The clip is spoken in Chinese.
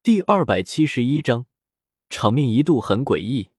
第271章，场面一度很诡异。